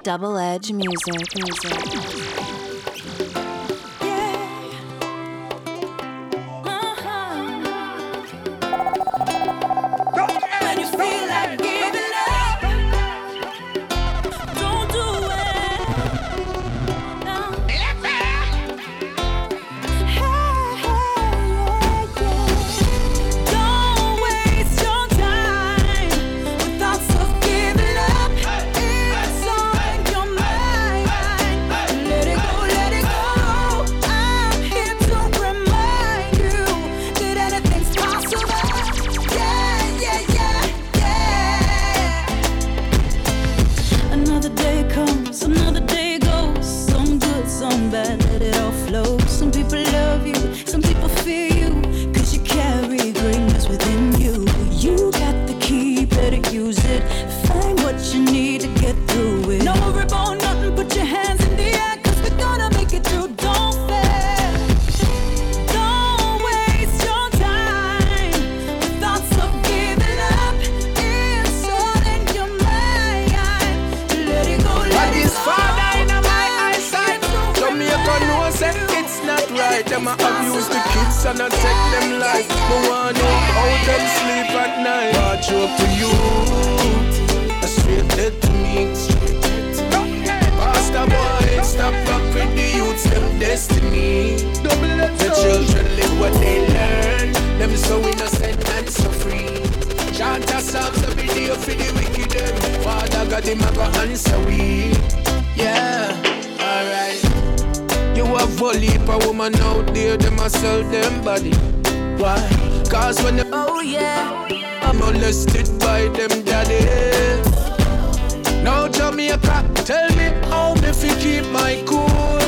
Double Edge Music. Them a abuse the kids and I take them life. No one know how them sleep at night. Watch up to you, a straight dead to me. Pastor boy, stop up with the youths, them destiny. The children live what they learn. Them so innocent and so free. Chant a songs every day for the wicked. Father God, him a go answer we. Yeah, alright. You have a heap of woman out there, them a sell them body. Why? Cause when them I'm molested by them daddy. Now Jamaica, tell me how me fi keep my cool.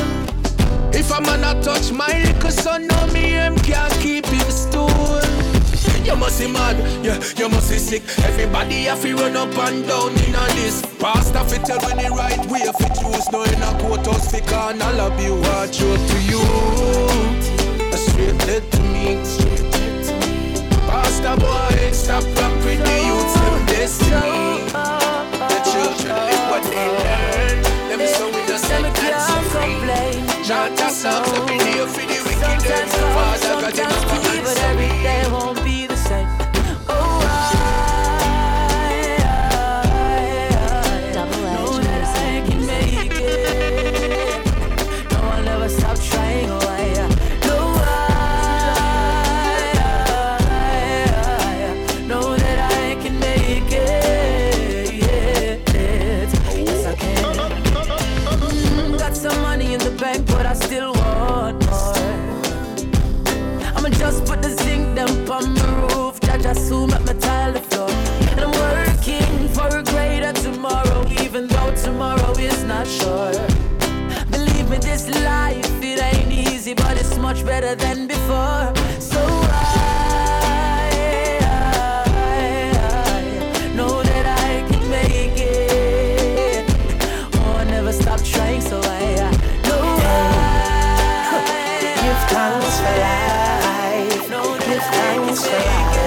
If a man a touch my little son, now me him can't keep him stool. You must be mad, yeah, you must be sick. Everybody have to run up and down in a this. Pastor fi tell when the right way fi choose. No in a courthouse fi can all of you. Watch out to you, a straight dead to me. Pastor boy, stop rock with the youths, them destiny. The children live what they learn. Them so innocent and so free. Chant a songs every day for the wicked. Father God, them a go answer me. They won't be the same. Double Edge Know that I can make it. No, I'll never stop trying. Know that I can make it. Yes, I can. Got some money in the bank, but I still want more. I'ma just put the zinc them on the roof. Just soon at my tile the floor. And I'm working for a greater tomorrow, even though tomorrow is not sure. Believe me, this life, it ain't easy, but it's much better than before. So I know that I can make it. Oh, I never stop trying, so I know I give thanks for life. Give thanks for life.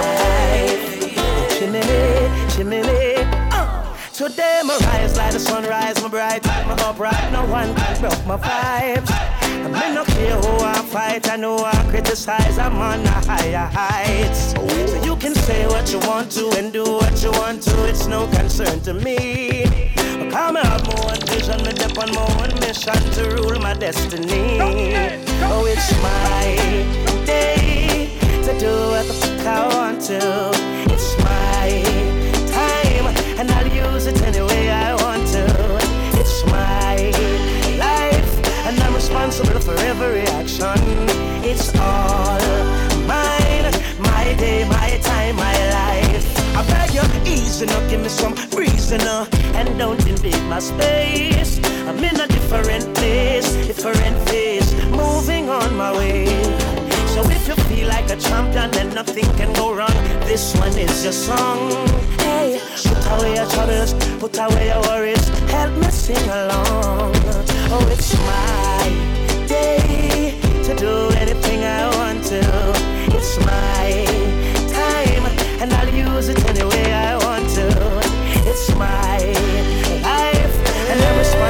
Chimney. Today my rise like the sunrise, my bright, my upright. No one can broke my vibes. I may not care who I fight, I know I criticize. I'm on the higher heights. So you can say what you want to and do what you want to. It's no concern to me. But come I have my own vision, me dip on my own mission to rule my destiny. Oh, it's my day to do what the fuck I want to. It's my time, and I'll use it any way I want to. It's my life, and I'm responsible for every action. It's all mine, my day, my time, my life. I beg you, easy now, give me some reason and don't invade my space. I'm in a different place, different phase, moving on my way. So if you feel like a champion, then nothing can go wrong. This one is your song. Hey, put away your troubles, put away your worries. Help me sing along. Oh, it's my day to do anything I want to. It's my time, and I'll use it any way I want to. It's my life, and I'm responsible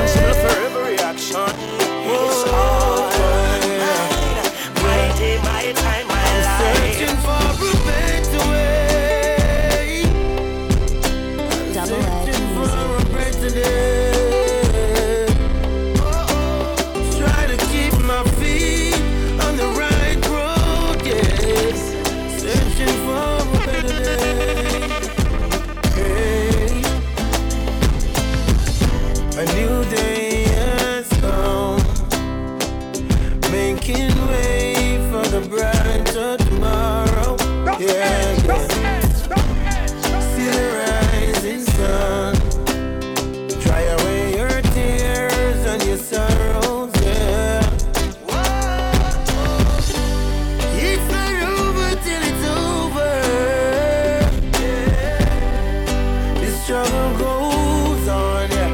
struggle goes on, yeah.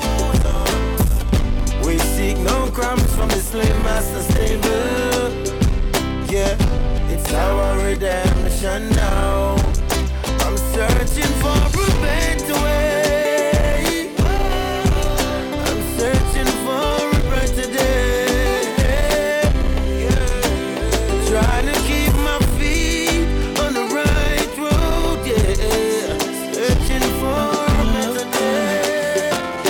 We seek no crumbs from the slave master stable. Yeah, it's our redemption now. I'm searching for a better way. I'm searching for a better day. Trying to keep my feet on the right road, yeah. Searching for a better day.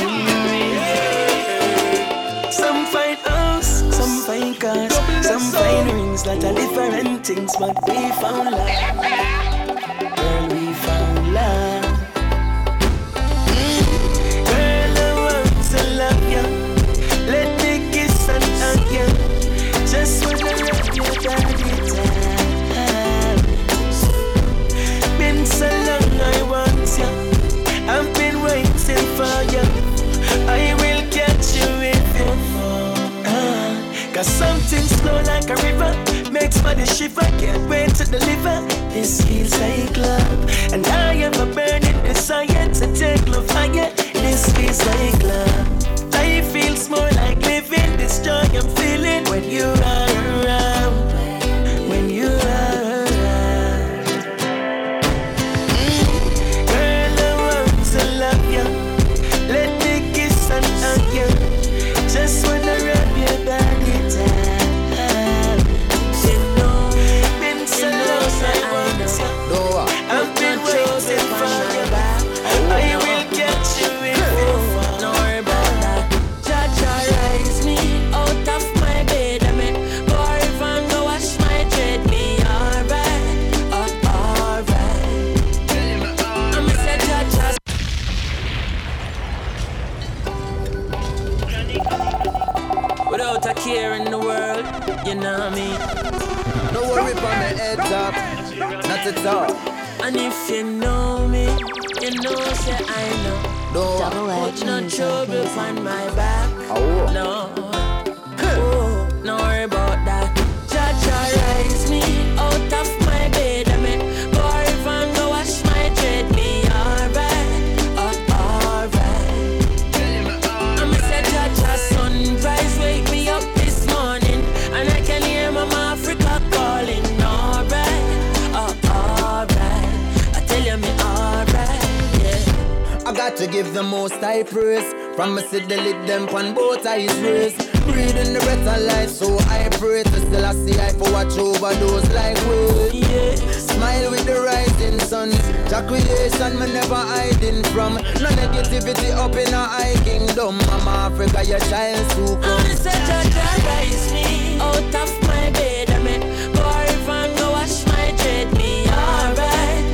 Some find house, some find cars, some find rings, lot of different things, but we found love. Girl, we found love. Girl, I want to love you. Let me kiss and hug you. Just wanna love you every time. Been so long I want you. I've been waiting for you. I will catch you if you fall. Cause something slow like a river makes body shiver. Can't wait to deliver. This feels like love, and I have a burning desire to take love higher. This feels like love. Life feels more like living. This joy I'm feeling when you are around. When you are around. Girl, I want to love you. Let me kiss and hug you. Just wanna rub your body down. You know, been so long I want you. I've been waiting for you. I will get you if you fall. Don't worry about that. Jaja raise me out of my bed. I mean, go river and go wash my dread. Me alright, alright. I'm a say Jaja. Without a care in the world, you know me. No worry about my head up, not at all. And if you know me, you know say I know. No, Double-edged Put no music trouble music. on my back. oh. No, no worry about that. Jaja raise me out of my bed. I mean, go river and go wash my dread. Me alright, alright. I'm a say Jaja sunrise wake me up this morning, and I can hear Mama Africa calling. Alright, alright. I tell you me alright, yeah. I got to give the most high praise. From me see the lid them on both eyes raised. Breathing the breath of life, so I pray to still I see I for watch over those like we. Yeah. Smile with the rising sun. Your creation me never hiding from. No negativity up in a high kingdom. Mama Africa, your child so come. I'm say Jaja rise me out of my bed. I mean, go river and go wash my dread. Me alright,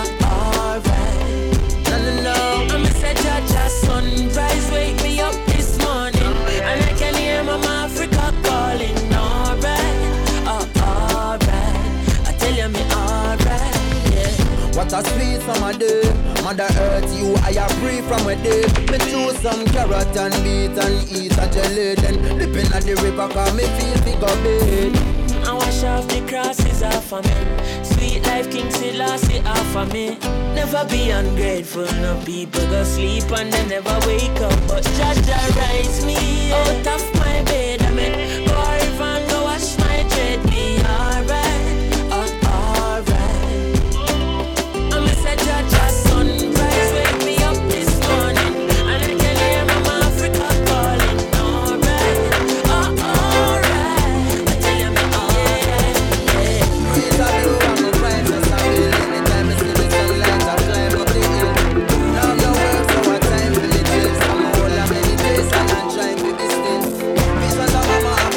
alright. No. I'm say Jaja sunrise wake me up this morning, and I can hear Mama Africa calling. Alright, alright. I tell you me alright, yeah. What a sweet summer day. Mother Earth, you I am free from a day. Me choose some carrot and beet and eat a jelly. Then dipping at the river cause me feel bigger bed. I wash off the crosses off of me. Sweet life King Selassie off of me. Never be ungrateful, no people go sleep and they never wake up. But Jaja rise me out of my bed. I mean, go river and go wash my dread. Me alright, alright. I'm a say Jaja sunrise wake me up this morning, and I can hear Mama Africa calling. Alright, alright. I tell you me alright, yeah. Breeze a blow and my vibes just a feel. Anytime I see the sunlight I climb up the hill. Love your work so I time for the days. I'm a whole of many days and I'm trying to be still. Peace and love, Mama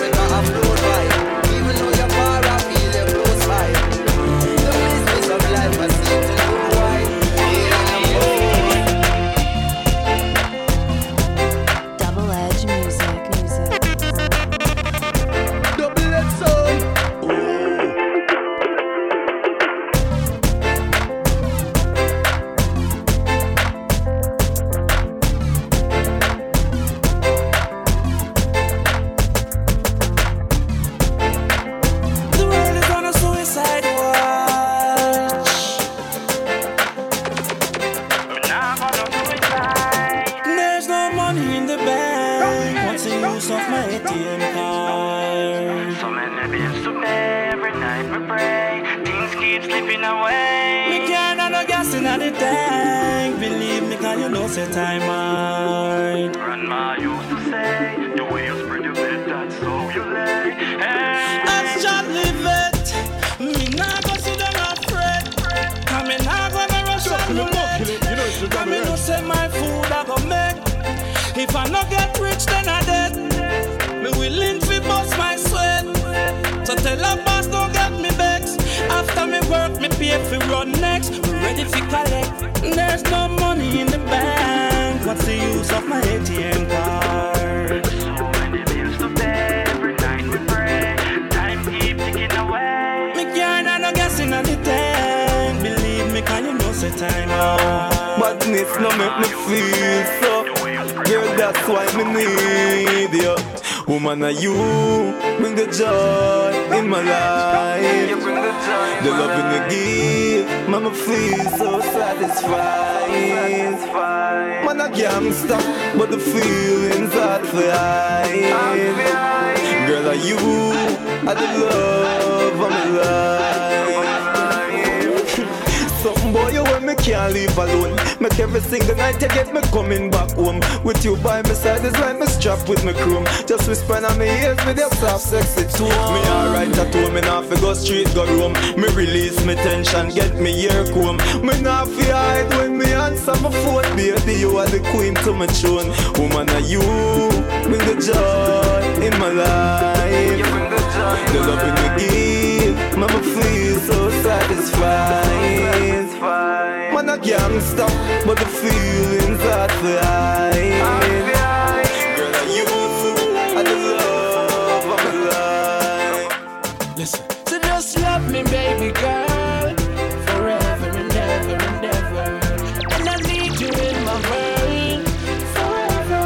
the tank. Believe me, can you know say time mine. Grandma used to say, the way you spread your bed, that's how you lay. Hey. As John live it, me nah go sit down and fret. Come me nah gonna rush and roulette. Come me no say my food I go make. If I no get rich, then I dead. Me willing to bust my sweat. So tell a boss don't get me vexed. After me work, me pay for run next. Me ready for collect. There's no money in the bank. What's the use of my ATM card? So many bills to pay, every night we pray. Time keep ticking away. Me can't no guessing on the tank. Believe me, can you know say time out. Madness no make me feel so. Girl, that's why me need you. Woman, are you bring the joy in my life. The love you give, mama feel so satisfied. Man, a gangster, but the feelings are flying. Girl, are you are the love of my life. Something boy, you when me can't leave alone. Make every single night you get me coming back home. With you by my side is like me strapped with my chrome. Just whisper on my ears with your soft sexy tone. Me alright at home, me nah fi go street, go roam. Me release me tension, get me ear comb. Me nah fi hide when me answer my phone. Baby, you are the queen to my throne. Woman, are you bring the joy in my life. The love you give, mama feel so satisfied. Man, a gangster, but the feelings are flying. Girl, are you are the love of my life. Listen. So just love me, baby girl, forever and ever and ever. And I need you in my world forever.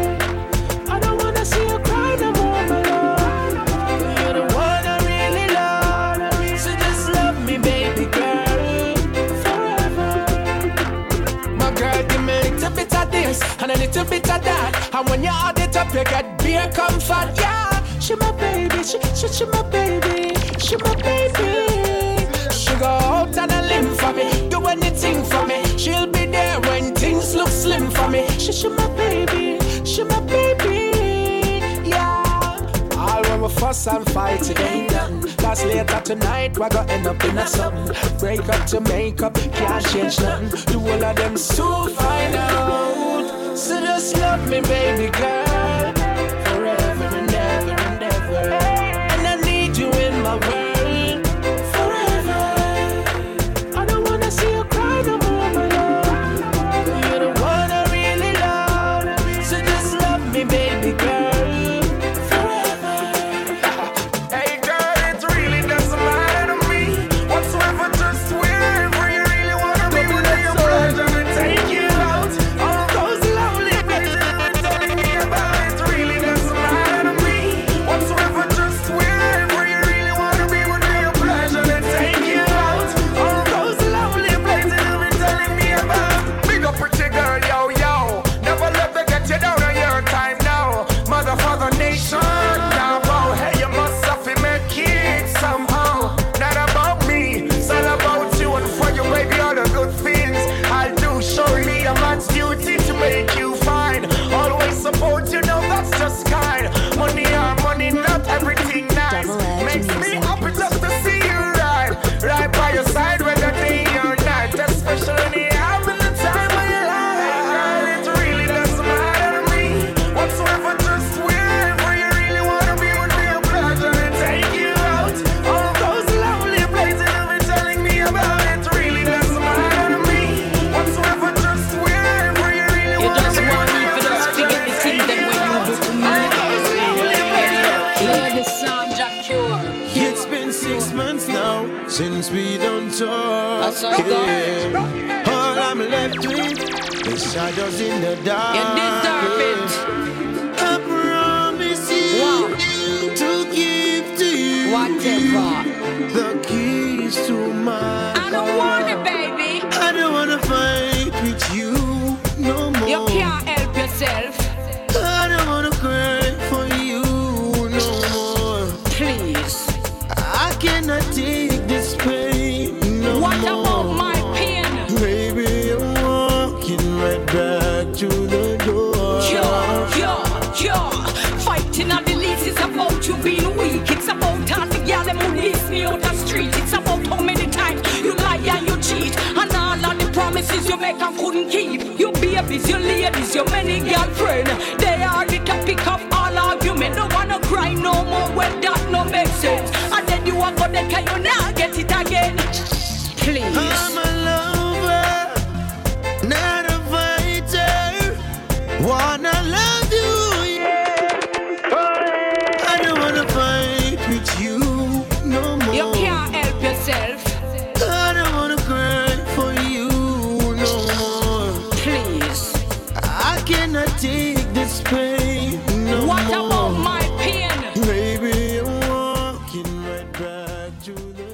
I don't wanna see you cry no more, my love. You're the one I really love. So just love me, baby girl, forever. My girl, give me a little bit of this and a little bit of that. And when you add it up, you get beer comfort, yeah. She my baby, she my baby, she my baby. She go out on a limb for me, do anything for me. She'll be there when things look slim for me. She my baby, yeah. All when we fuss and fight, it ain't done. Cause later tonight, we're gonna end up in a something. Break up to make up, can't change nothing. The whole of them soon find out. So just love me, baby girl, forever and ever and ever. And I need you in my world forever. I don't wanna see you cry no more, my love. You're the one I really love. So just love me, baby girl, forever. Hey girl, it really doesn't matter to me whatsoever. Just wherever you really wanna be, within your pleasure to take you out. All those lovely places you're telling me about, it really doesn't matter to me whatsoever. Just wherever you really wanna be, within your pleasure to take you out. All those lovely places you've been telling me about. Big up pretty girl, yo yo. Never let them get you down on your time now. Mother, father, nation. Now, wow, hey, you must have to make it somehow. Not about me, it's all about you and for you, baby, all the good things I'll do. Surely a man's duty to make you fine. Always support you, know that's just kind. Money or money, not everything nice. Double-edged Makes me music. happy just to see you right by your side, whether day or night. Especially having the time of your life. Girl, it really doesn't matter to me whatsoever. Just wherever you really wanna be, would be a pleasure to take you out. All those lovely places you've been telling me about, it really doesn't matter to me whatsoever. Just wherever you really You wanna just be, want me would for be a just pleasure forget the to thing take that you when you out. do to me. All those lovely places. Hear the sound, Jack Cure. It's been 6 months now since we done talk. That's all good. All I'm left with is shadows in the dark. You deserve it. I promise you Wow. to give to you Whatever. the keys to my I don't car. want it, baby. I don't wanna fight with you no more. You can't help yourself. I don't wanna cry for you no more. Please. I cannot take this pain no What more. about my pain? Baby, make and couldn't keep. Your babies, your ladies, your many girlfriend. They are the topic of all argument. Don't wanna cry no more when that no make sense. And then you are gonna can you now get it again. Please. I'm a lover, not a fighter. Wanna love you, yeah. I don't wanna fight with you no more. You can't help yourself. I don't wanna cry for you no more. Please. I cannot take this pain no what more. What about my pain? Baby, I'm walking right back to the